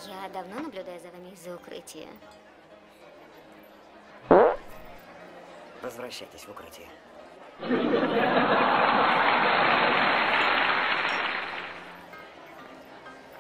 Я давно наблюдаю за вами из-за укрытия. Возвращайтесь в укрытие.